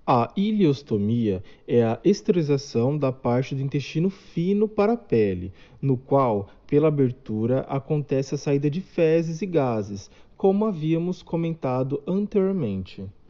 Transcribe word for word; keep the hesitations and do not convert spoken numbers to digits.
A ileostomia é a esterilização da parte do intestino fino para a pele, no qual, pela abertura, acontece a saída de fezes e gases, como havíamos comentado anteriormente.